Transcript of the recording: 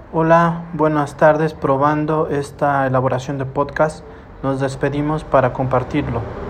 Hola, buenas tardes. Probando esta elaboración de podcast, nos despedimos para compartirlo.